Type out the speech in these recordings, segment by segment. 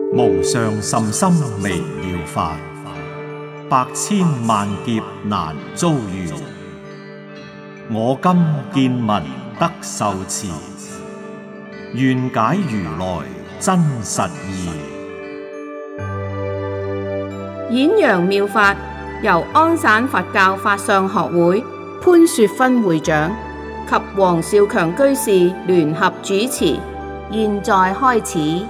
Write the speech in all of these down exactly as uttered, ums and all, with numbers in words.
無上甚深微妙法，百千萬劫難遭遇。我今見聞得受持，願解如來真實義。 演揚妙法由安省佛教法相學會潘雪芬會長及黃少強居士聯合主持，現在開始。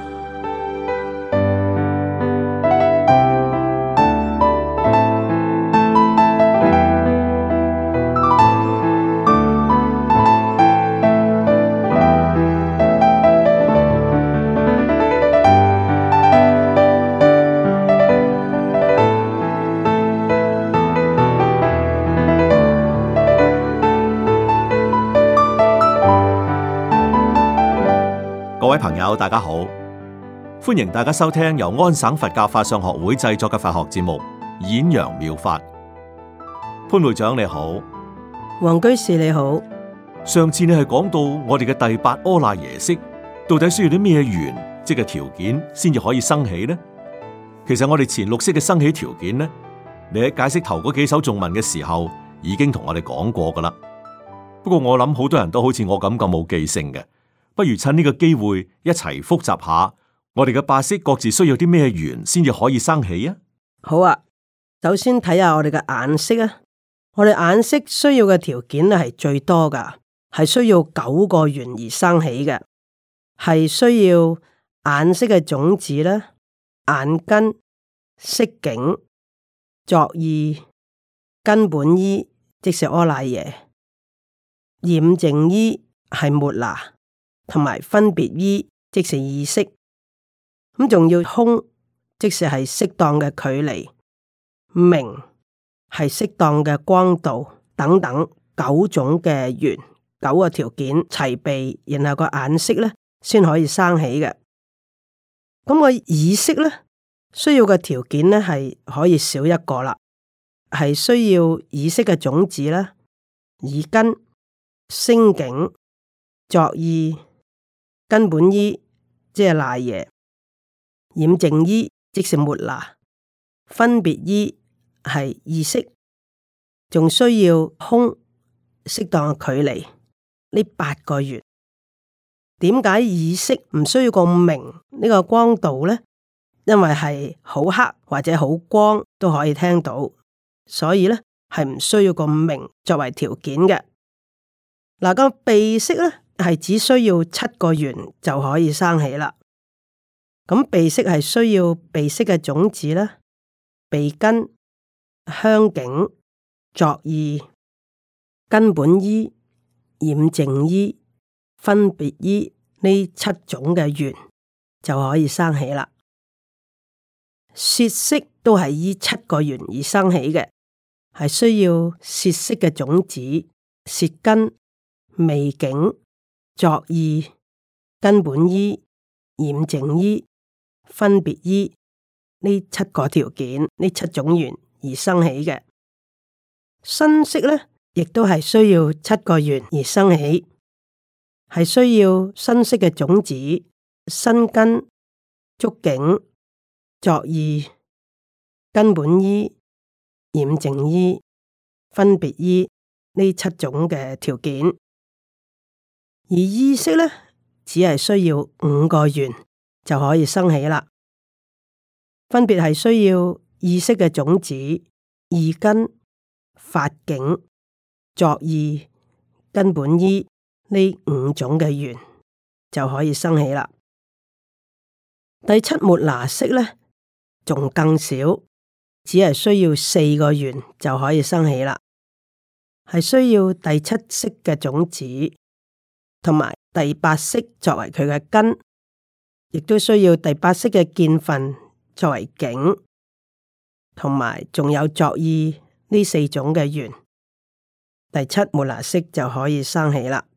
各位朋友，大家好，歡迎大家收聽由安省佛教法相學會製作嘅佛學節目《演揚妙法》。潘會長你好， 黃居士你好。 上次你係講到我哋嘅第八阿賴耶識，到底需要啲咩緣，即係條件，先至可以生起呢？其實我哋前六識嘅生起條件呢，你喺解釋頭嗰幾首頌文嘅時候，已經同我哋講過噶啦。不過我諗好多人都好似我咁咁冇記性嘅。不如趁呢個機會一齊複習下，我哋嘅八識各自需要啲咩緣先至可以生起啊？ 好啊，首先睇下我哋嘅眼識啊。我哋眼識需要嘅條件咧係最多噶，係需要九個緣而生起嘅，係需要眼識嘅種子啦、眼根、色境、作意、根本依，即是阿賴耶、染淨依係末那，同埋分別依，即是意識，咁仲要空，即是係適當嘅距離，明係適當嘅光度等等九種嘅緣，九個條件齊備，然後個眼識咧先可以生起嘅。咁個意識咧需要嘅條件咧係可以少一個啦，係需要意識嘅種子啦、耳根、聲境、作意、根本依，即係賴耶；染淨依，即是末那；分別依係意識，仲需要空適當嘅距離。呢八個緣，點解意識唔需要個明呢個光度呢？因為係好黑或者好光都可以聽到，所以呢係唔需要個明作為條件嘅。嗱，個鼻識呢，係只需要七個緣就可以生起啦。咁鼻識係需要鼻識嘅種子啦、鼻根、香境、作意、根本依、染淨依、分別依呢七種嘅緣就可以生起啦。舌識都係依七個緣而生起嘅，係需要舌識嘅種子、舌根、味境、作意、根本依、染淨依、分別依呢七個條件，呢七種緣而生起嘅。身識咧，亦都係需要七個緣而生起，係需要身識嘅種子、身根、觸境、作意、根本依、染淨依、分別依呢七種嘅條件。而意識咧，只係需要五個緣就可以生起啦。分別係需要意識嘅種子、意根、法境、作意、根本依呢五種嘅緣就可以生起啦。第七末那識咧，仲更少，只係需要四個緣就可以生起啦。係需要第七識嘅種子，同埋第八識作為佢嘅根，亦都需要第八識嘅見分作為境，同埋仲有作意呢四種嘅緣，第七末那識就可以生起啦。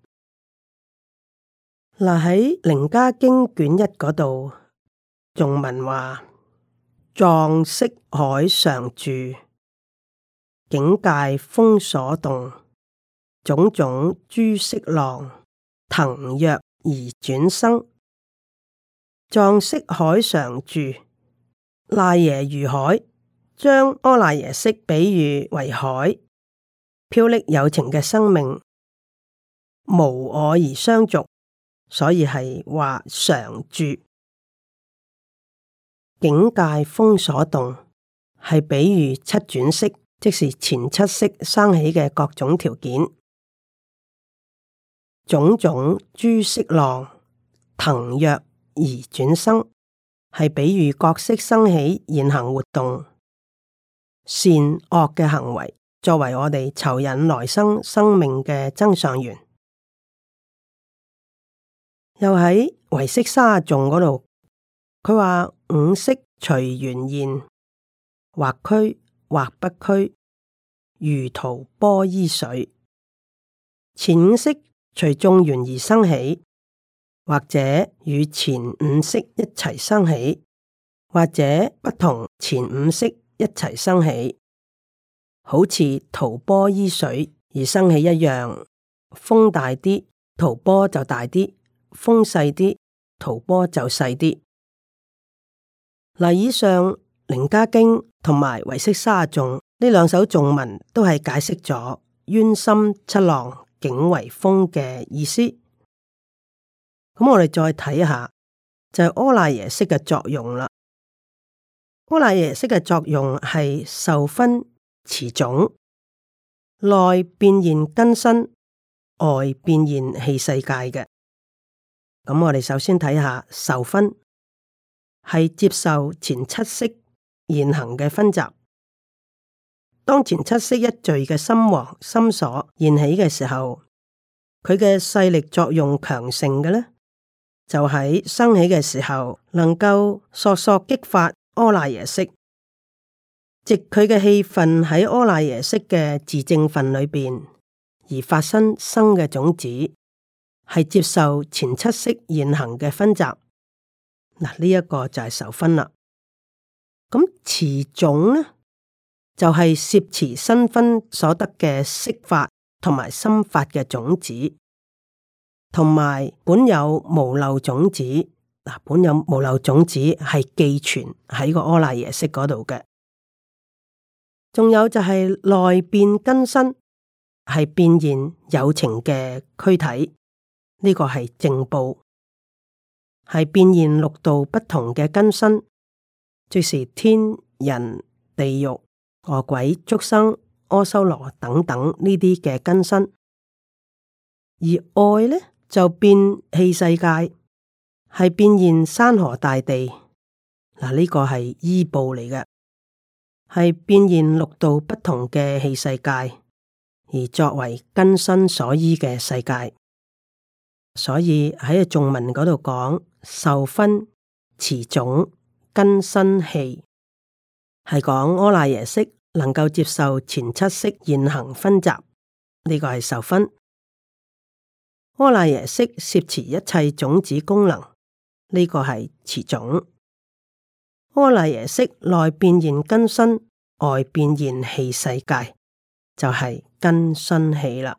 嗱，喺《楞伽經》卷一嗰度，頌文話：藏識海常住，境界風所動，種種諸色浪，騰躍而轉生。 藏識海常住，賴耶如海，將阿賴耶識比喻為海，飄溺有情嘅生命，無我而相續，所以係話常住。境界風所動，係比喻七轉識，即是前七識生起嘅各種條件。種種諸色浪騰躍而轉生，係比喻各識生起現行活動，善惡嘅行為，作為我哋酬引來生生命嘅增上緣。又喺唯識沙頌嗰度，佢話五識隨緣現，或虛或不虛，如塗波依水。前五識隨眾緣而生起，或者與前五識一齊生起，或者不同前五識一齊生起，好似塗波依水而生起一樣。風大啲，塗波就大啲；風細啲，塗波就細啲。嗱，以上楞伽經同埋唯識沙頌呢兩首頌文都係解釋咗淵深七浪境為風嘅意思。咁我哋再睇下就係阿賴耶識嘅作用啦。阿賴耶識嘅作用係受分持種，內變現根身，外變現器世界嘅。咁我哋首先睇下受分，係接受前七識現行嘅分集。當前七識一聚嘅心王心所現起嘅時候，佢嘅勢力作用強盛嘅呢，就喺生起嘅時候能夠索索激發阿賴耶識，藉佢嘅氣分喺阿賴耶識嘅自證分裏邊而發生生嘅種子，係接受前七識現行嘅分集。嗱，呢一個就係受分啦。咁持種呢，就係、是、攝持新分所得嘅色法同埋心法嘅種子，同埋本有無漏種子。嗱，本有無漏種子係寄存喺個阿賴耶識嗰度嘅。仲有就係內變根身，係變現有情嘅軀體，呢、這個係正報。係變現六道不同嘅根身，即是天人、地獄、餓鬼、畜生、阿修羅等等呢啲嘅根身。而外呢，就變器世界，係變現山河大地。嗱，呢個係依報嚟嘅，係變現六道不同嘅器世界，而作為根身所依嘅世界。所以喺個頌文嗰度講受分持種根身器，係講阿賴耶識能夠接受前七識現行分集，呢、這個係受分。阿賴耶識攝持一切種子功能，呢、這個係持種。阿賴耶識內變現根身，外變現器世界，就係、是、根身器啦。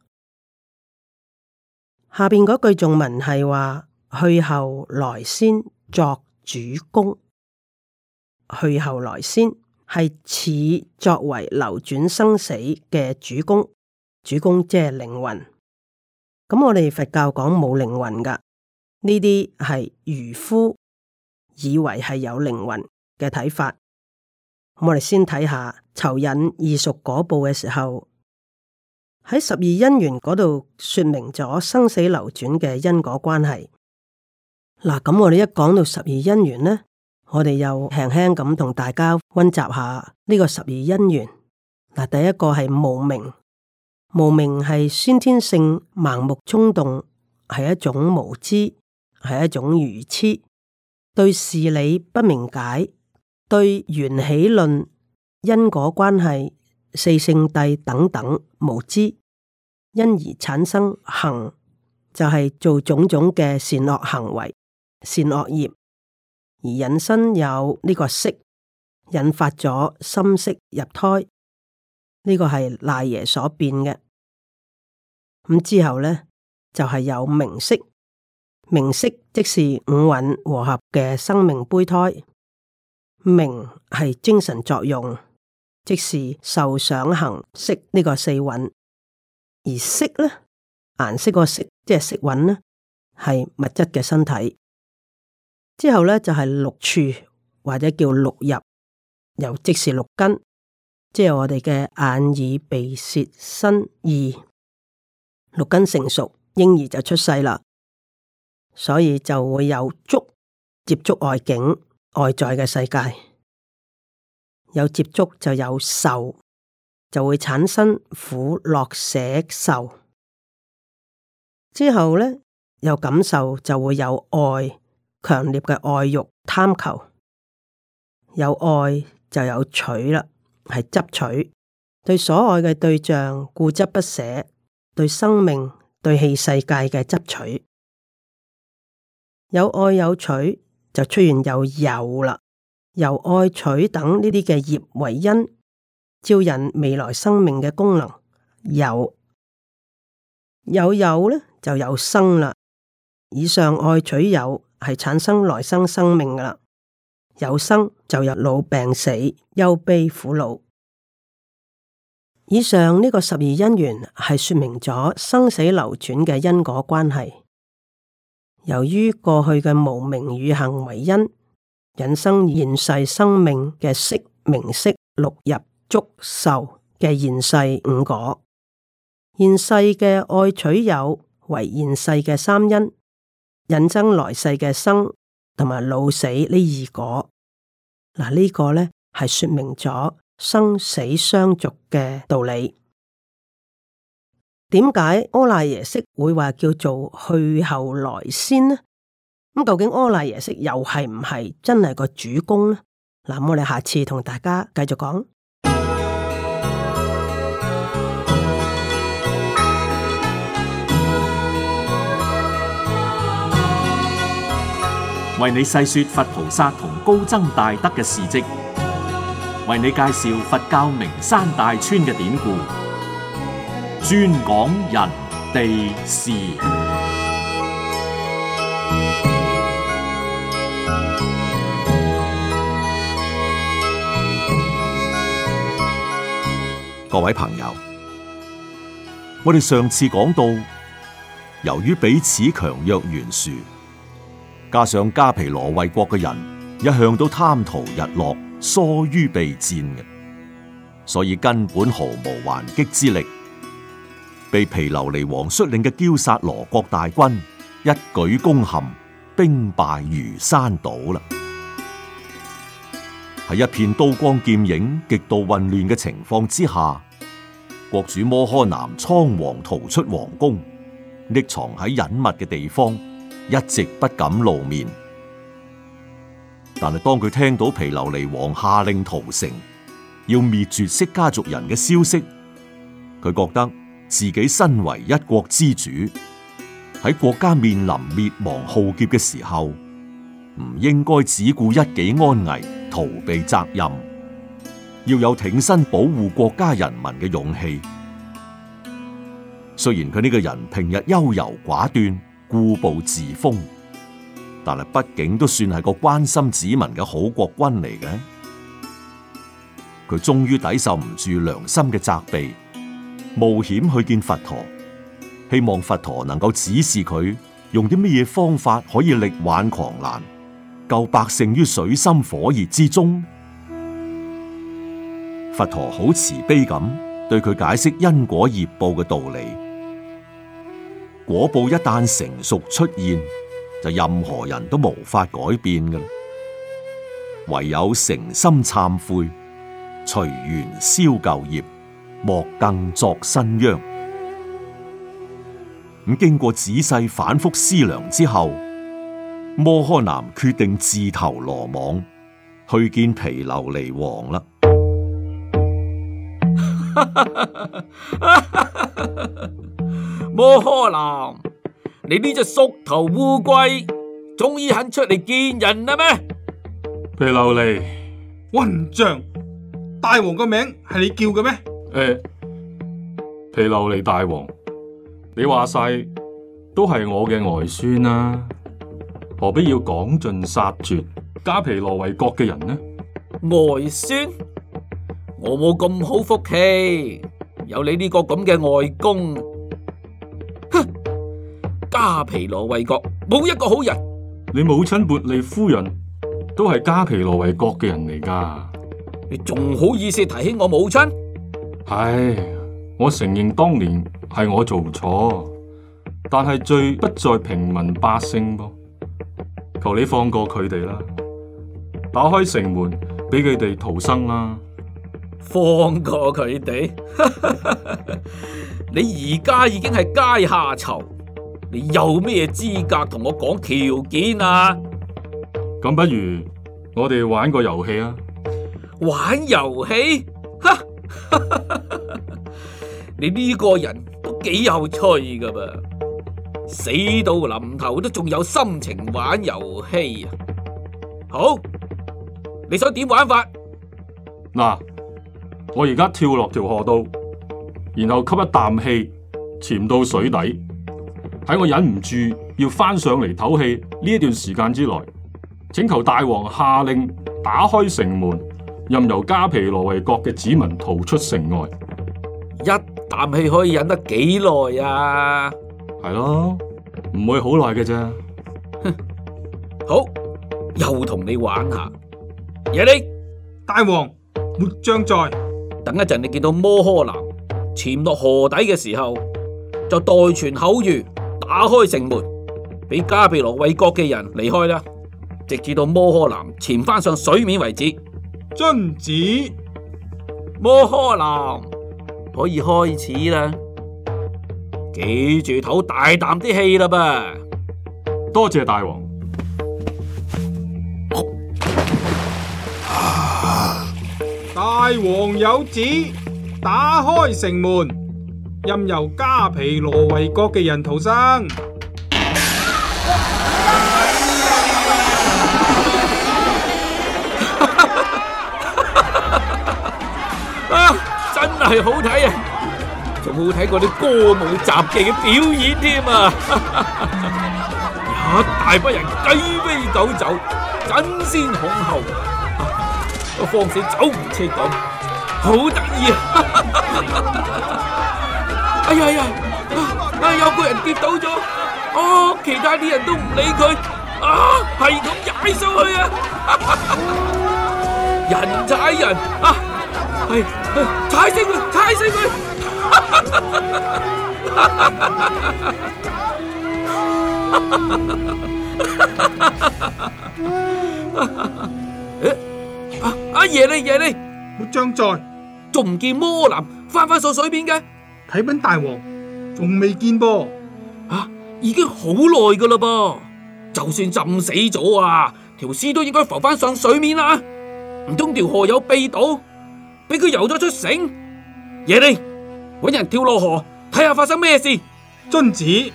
下邊嗰句頌文係話去後來先作主功，去後來先係似作為流轉生死嘅主功，主功即係靈魂。咁我哋佛教講冇靈魂噶，呢啲係愚夫以為係有靈魂嘅睇法。我哋先睇下酬引異熟果報嘅時候，喺十二因緣嗰度說明咗生死流轉嘅因果關係。嗱，咁我哋一講到十二因緣呢，我哋又輕輕咁同大家溫習下呢個十二因緣。嗱，第一個係無明，無明係先天性盲目衝動，係一種無知，係一種愚癡，對事理不明解，對緣起論、因果關係、四聖諦等等無知，因而產生行，就係、是、做種種嘅善惡行為、善惡業，而引申有呢個識，引發咗心識入胎，呢、這個係賴耶所變嘅。咁之後咧就係、是、有名色， 明色即是五蘊和合嘅生命胚胎，明係精神作用，即是受想行識呢個四蘊，而色呢，顏色個色即係色蘊呢，係物質嘅身體。之後呢，就係、是、六處或者叫六入，又即是六根，即係我哋嘅眼耳鼻舌身意，六根成熟，嬰兒就出世啦。所以就會有觸接觸外境外在嘅世界，有接觸就有受，就會產生苦樂捨受。之後呢，有感受就會有愛，強烈嘅愛欲貪求，有愛就有取啦，係執取，對所愛嘅對象固執不捨，對生命對器世界嘅執取。有愛有取，就出現有有啦，由愛取等呢啲嘅業為因，招引未來生命嘅功能。有有有咧，就有生啦。以上愛取有係產生來生生命噶啦，有生就有老病死、憂悲苦惱。以上呢個十二因緣係說明咗生死流轉嘅因果關係。由於過去嘅無明語行為因，引生現世生命嘅色、名色、六入、觸、受嘅現世五果。現世嘅愛取有為現世嘅三因，引生來世嘅生同埋老死呢二果。嗱，呢個呢係說明咗生死相續嘅道理。點解阿賴耶識會話叫做去後來先呢？咁究竟阿賴耶識又係唔係真係個主公呢？嗱，我哋下次同大家繼續講。 為你細說佛菩薩同高僧大德嘅事跡，為你介紹佛教名山大川嘅典故，專講人地事。 各位朋友，我哋上次講到，由於彼此強弱懸殊，加上迦毗羅衛國嘅人一向都貪圖日落，疏於備戰嘅，所以根本毫無還擊之力。被毗琉璃王率領嘅憍薩羅國大軍一舉攻陷，兵敗如山倒啦！喺一片刀光劍影、極度混亂嘅情況之下，國主摩訶男倉皇逃出皇宮，匿藏喺隱密嘅地方，一直不敢露面。但係當佢聽到毗琉璃王下令屠城，要滅絕釋迦族人嘅消息，佢覺得自己身為一國之主，喺國家面臨滅亡浩劫嘅時候，唔應該只顧一己安危，逃避責任，要有挺身保護國家人民嘅勇氣。雖然佢呢個人平日優柔寡斷、固步自封，但係畢竟都算係個關心子民嘅好國君嚟嘅。佢終於抵受唔住良心嘅責備，冒險去見佛陀，希望佛陀能夠指示佢用啲乜嘢方法可以力挽狂瀾，救百姓於水深火熱之中。佛陀好慈悲咁對佢解釋因果業報嘅道理。果報一旦成熟出現，就任何人都無法改變㗎，唯有誠心懺悔，隨緣消舊業，莫更作新殃。咁經過仔細反覆思量之後，摩訶男決定自投羅網，去見毗琉璃王啦。 摩訶男，你呢隻縮頭烏龜，終於肯出嚟見人啦咩？ 毗琉璃，混賬！大王個名係你叫嘅咩？ 誒，毗琉璃大王，你話晒都係我嘅外孫啦，何必要趕盡殺絕迦毗羅衛國嘅人呢？ 外孫，我冇咁好福氣，有你呢個咁嘅外公。哼，迦毗羅衛國冇一個好人。 你母親茉莉夫人都係迦毗羅衛國嘅人嚟噶， 你仲好意思提起我母親？ 唉，我承認當年係我做錯，但係罪不在平民百姓噃。求你放過佢哋啦，打開城門俾佢哋逃生啦。 放過佢哋？你而家已經係階下囚，你有咩資格同我講條件啊？ 咁不如我哋玩個遊戲啊！ 玩遊戲？哈！你呢個人都幾有趣噶噃，死到臨頭都仲有心情玩遊戲啊！好，你想點玩法？ 嗱，我而家跳落條河道，然後吸一啖氣，潛到水底。喺我忍唔住要翻上嚟唞氣呢一段時間之內，請求大王下令打開城門，任由迦毗羅衛國嘅子民逃出城外。 一啖氣可以忍得幾耐啊？ 係咯，唔會好耐嘅啫。 哼，好，又同你玩下。耶利， 大王，末將在。 等一陣你見到摩訶男潛落河底嘅時候，就代傳口諭，打開城門，俾迦毗羅衛國嘅人離開啦，直至到摩訶男潛翻上水面為止。 遵旨。 摩訶男，可以開始啦，記住唞大啖啲氣啦噃。 多謝大王。大王有旨，打開城門，任由迦毗羅衛國嘅人逃生。 啊，真係好睇啊！仲冇睇過啲歌舞雜技嘅表演添啊！一大班人雞飛狗走，爭先恐後。個方死走唔切咁，好得意啊！哎呀呀，啊有個人跌倒咗，哦，其他啲人都唔理佢，啊係咁踩上去啊！人踩人啊，係踩死佢，踩死佢！阿爺你爺你， 末將在， 仲唔見摩男翻返上水面嘅？ 啟稟大王，仲未見噃。 啊，已經好耐噶啦噃，就算浸死咗啊，條屍都應該浮翻上水面啦。唔通條河有秘道，俾佢游咗出城？爺你，搵人跳落河睇下發生咩事。 遵旨。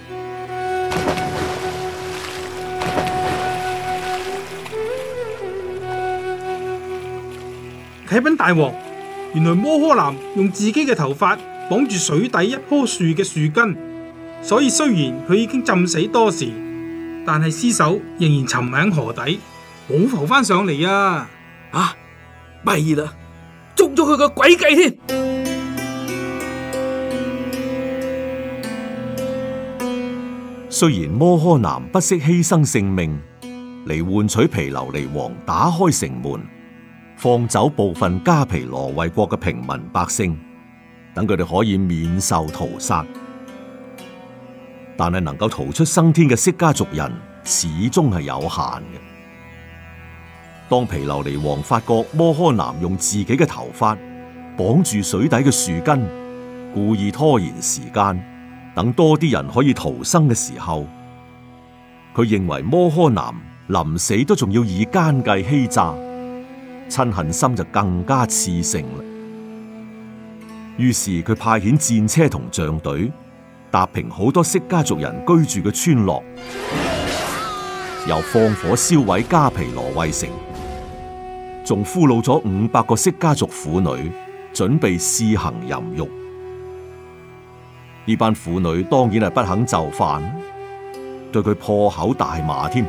啟稟大王，原來摩訶男用自己嘅頭髮綁住水底一棵樹嘅樹根，所以雖然佢已經浸死多時，但係屍首仍然沉喺河底，冇浮翻上嚟啊！ 啊，弊啦，捉咗佢個詭計添！ 雖然摩訶男不惜犧牲性命嚟換取毗琉璃王打開城門，放走部分迦毗羅衛國嘅平民百姓，等佢哋可以免受屠殺。但係能夠逃出生天嘅釋迦族人始終係有限嘅。當毗琉璃王發覺摩訶男用自己嘅頭髮綁住水底嘅樹根，故意拖延時間，等多啲人可以逃生嘅時候，佢認為摩訶男臨死都仲要以奸計欺詐，嗔恨心就更加熾盛啦。於是佢派遣戰車同象隊，踏平好多釋迦族人居住嘅村落，又放火燒毀迦毗羅衛城，仲俘虜咗五百個釋迦族婦女，準備施行淫欲。呢班婦女當然係不肯就範， 對佢破口大罵添。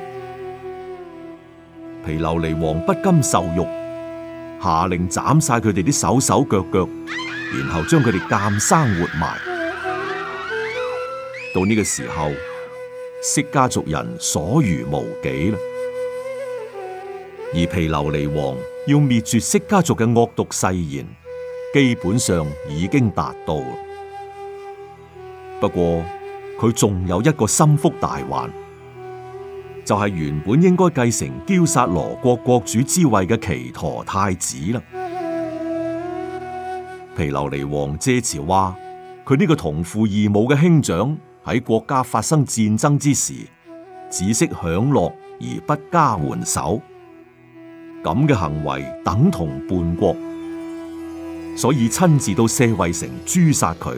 毗琉璃王不甘受辱，下令斬晒佢哋啲手手腳腳，然後將佢哋監生活埋。到呢個時候，釋迦族人所餘無幾啦。而毗琉璃王要滅絕釋迦族嘅惡毒誓言，基本上已經達到。不過佢仲有一個心腹大患，就係、是、原本應該繼承憍薩羅國國主之位嘅祇陀太子啦。毗琉璃王借詞話，佢呢個同父異母嘅兄長喺國家發生戰爭之時，只識享樂而不加援手，咁嘅行為等同叛國，所以親自到舍衛城誅殺佢。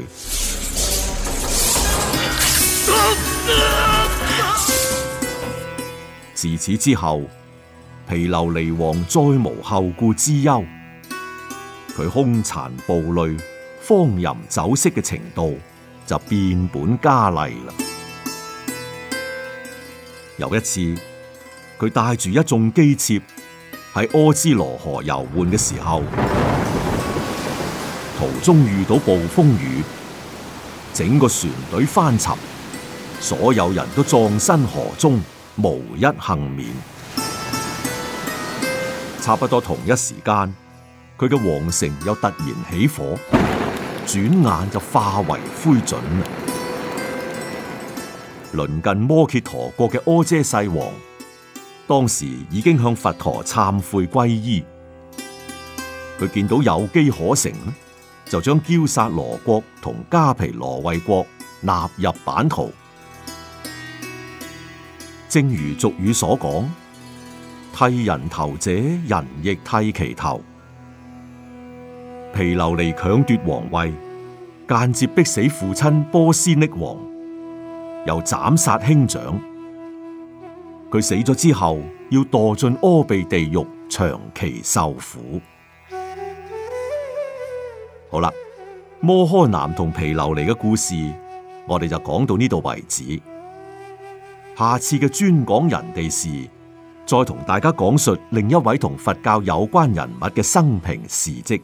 自此之後，毗琉璃王再無後顧之憂，佢兇殘暴戾、荒淫酒色嘅程度就變本加厲啦。有一次，佢帶住一眾姬妾喺阿茲羅河遊玩嘅時候，途中遇到暴風雨，整個船隊翻沉，所有人都葬身河中，無一幸免。差不多同一時間，佢嘅皇城又突然起火，轉眼就化為灰燼。鄰近摩羯陀國嘅阿闍世王，當時已經向佛陀懺悔皈依。佢見到有機可乘，就將憍薩羅國同迦毗羅衛國納入版圖。正如俗語所講，剃人頭者，人亦剃其頭。毗琉璃強奪皇位，間接逼死父親波斯匿王，又斬殺兄長。佢死咗之後，要墮進阿鼻地獄，長期受苦。好啦，摩訶男同毗琉璃嘅故事，我哋就講到呢度為止。下次嘅專講人哋事，再同大家講述另一位同佛教有關人物嘅生平事跡。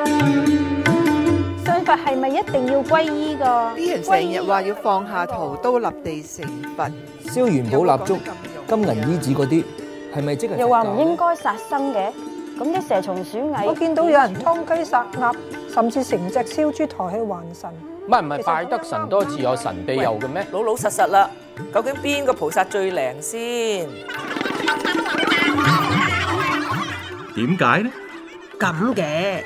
信佛係咪一定要皈依㗎？ 啲人成日話要放下屠刀立地成佛， 燒元寶蠟燭、金銀衣紙嗰啲，係咪即係？ 又話唔應該殺生嘅，咁啲蛇蟲鼠蟻， 我見到有人劏雞殺鴨，甚至成隻燒豬抬去還神。 唔係唔係，拜得神多自有神庇佑嘅咩？ 老老實實啦，究竟邊個菩薩最靈先？ 點解呢？ 咁嘅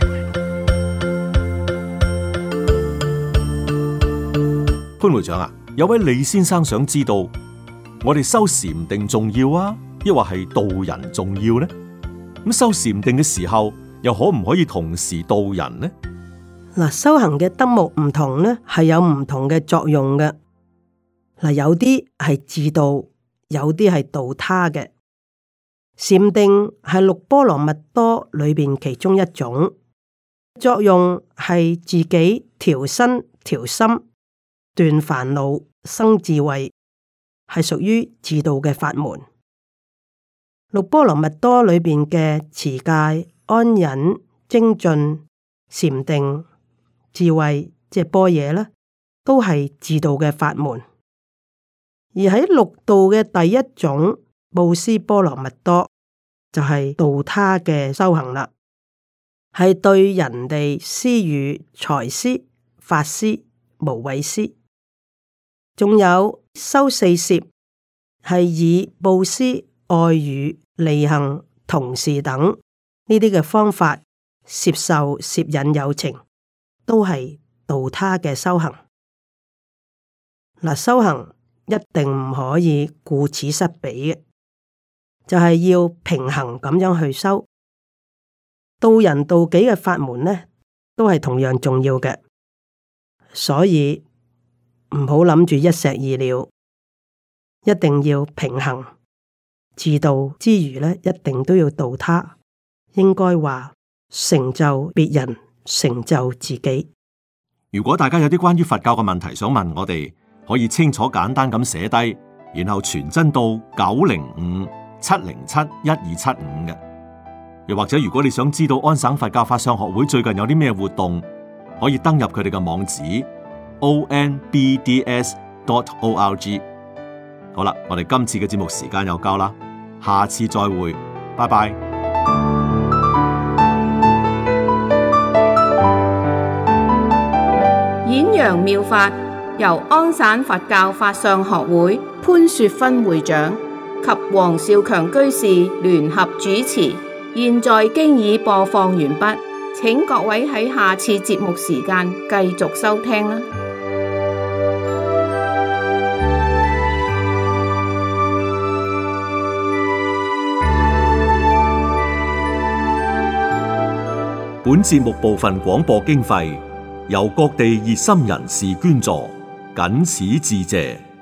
潘會長啊，有位李先生想知道，我哋修禪定重要啊，抑或係度人重要呢？咁修禪定嘅時候，又可唔可以同時度人呢？ 嗱，修行嘅德目唔同呢，係有唔同嘅作用嘅。嗱，有啲係自度，有啲係度他嘅。禪定係六波羅蜜多裏邊其中一種，作用係自己調身調心、斷煩惱、生智慧，係屬於自度嘅法門。六波羅蜜多裏邊嘅持戒、安忍、精進、禪定、智慧，即係般若啦，都係自度嘅法門。而喺六度嘅第一種布施波羅蜜多，就係、是、度他嘅修行啦，係對人哋施予財施、法施、無畏施。仲有修四攝，係以布施、愛語、利行、同事等呢啲嘅方法攝受、攝引有情，都係度他嘅修行。嗱，修行一定唔可以顧此失彼嘅，就係、是、要平衡咁樣去修。度人度己嘅法門呢，都係同樣重要嘅，所以唔好諗住一石二鳥，一定要平衡。自度之餘呢，一定都要度他。應該話成就別人，成就自己。 如果大家有啲關於佛教嘅問題想問我哋，可以清楚簡單咁寫低， 然後傳真到九零五七零七一二七五嘅。又或者如果你想知道安省佛教法相學會最近有啲咩活動，可以登入佢哋嘅網址 o n b d s dot org。好啦，我哋今次嘅節目時間又夠啦，下次再會，拜拜。 演揚妙法由安省佛教法相學會潘雪芬會長及黃少強居士聯合主持。現在經已播放完畢，請各位喺下次節目時間繼續收聽啦。 本節目部分廣播經費由各地熱心人士捐助，謹此致謝。